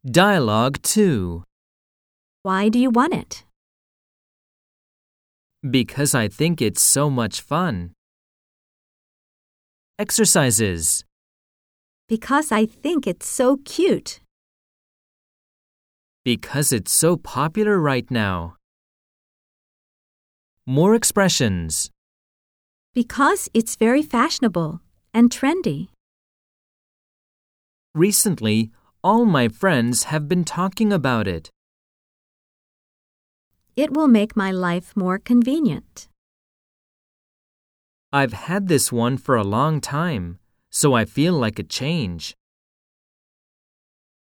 Dialogue 2. Why do you want it? Because I think it's so much fun. Exercises. Because I think it's so cute. Because it's so popular right now. More expressions. Because it's very fashionable and trendy. Recently, all my friends have been talking about it. It will make my life more convenient. I've had this one for a long time, so I feel like a change.